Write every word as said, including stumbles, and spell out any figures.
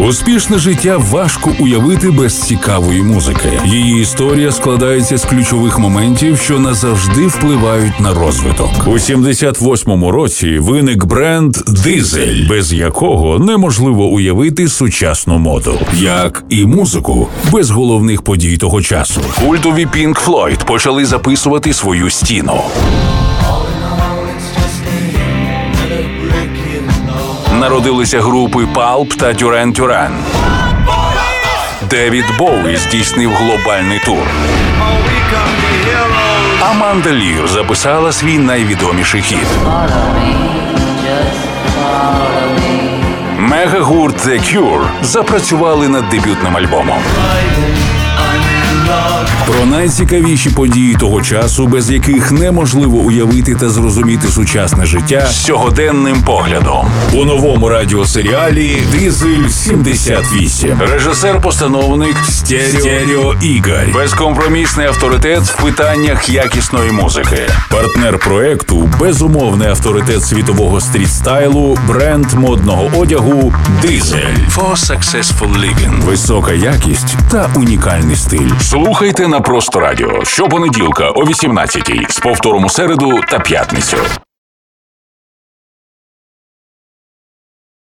Успішне життя важко уявити без цікавої музики. Її історія складається з ключових моментів, що назавжди впливають на розвиток. У сімдесят восьмому році виник бренд «Дизель», без якого неможливо уявити сучасну моду. Як і музику, без головних подій того часу. Культові Pink Floyd почали записувати свою стіну. Народилися групи Pulp та Duran Duran. Девід Боуі здійснив глобальний тур. Аманда Лір записала свій найвідоміший хіт. Мегагурт The Cure запрацювали над дебютним альбомом. Про найцікавіші події того часу, без яких неможливо уявити та зрозуміти сучасне життя з сьогоденним поглядом. У новому радіосеріалі «Дизель сімдесят вісім». Режисер-постановник Стерео, Стерео Ігор. Безкомпромісний авторитет в питаннях якісної музики. Партнер проекту – безумовний авторитет світового стріт-стайлу, бренд модного одягу «Дизель». For successful living. Висока якість та унікальний стиль. Слухайте на Просто Радіо щопонеділка о вісімнадцятій, з повтором у середу та п'ятницю.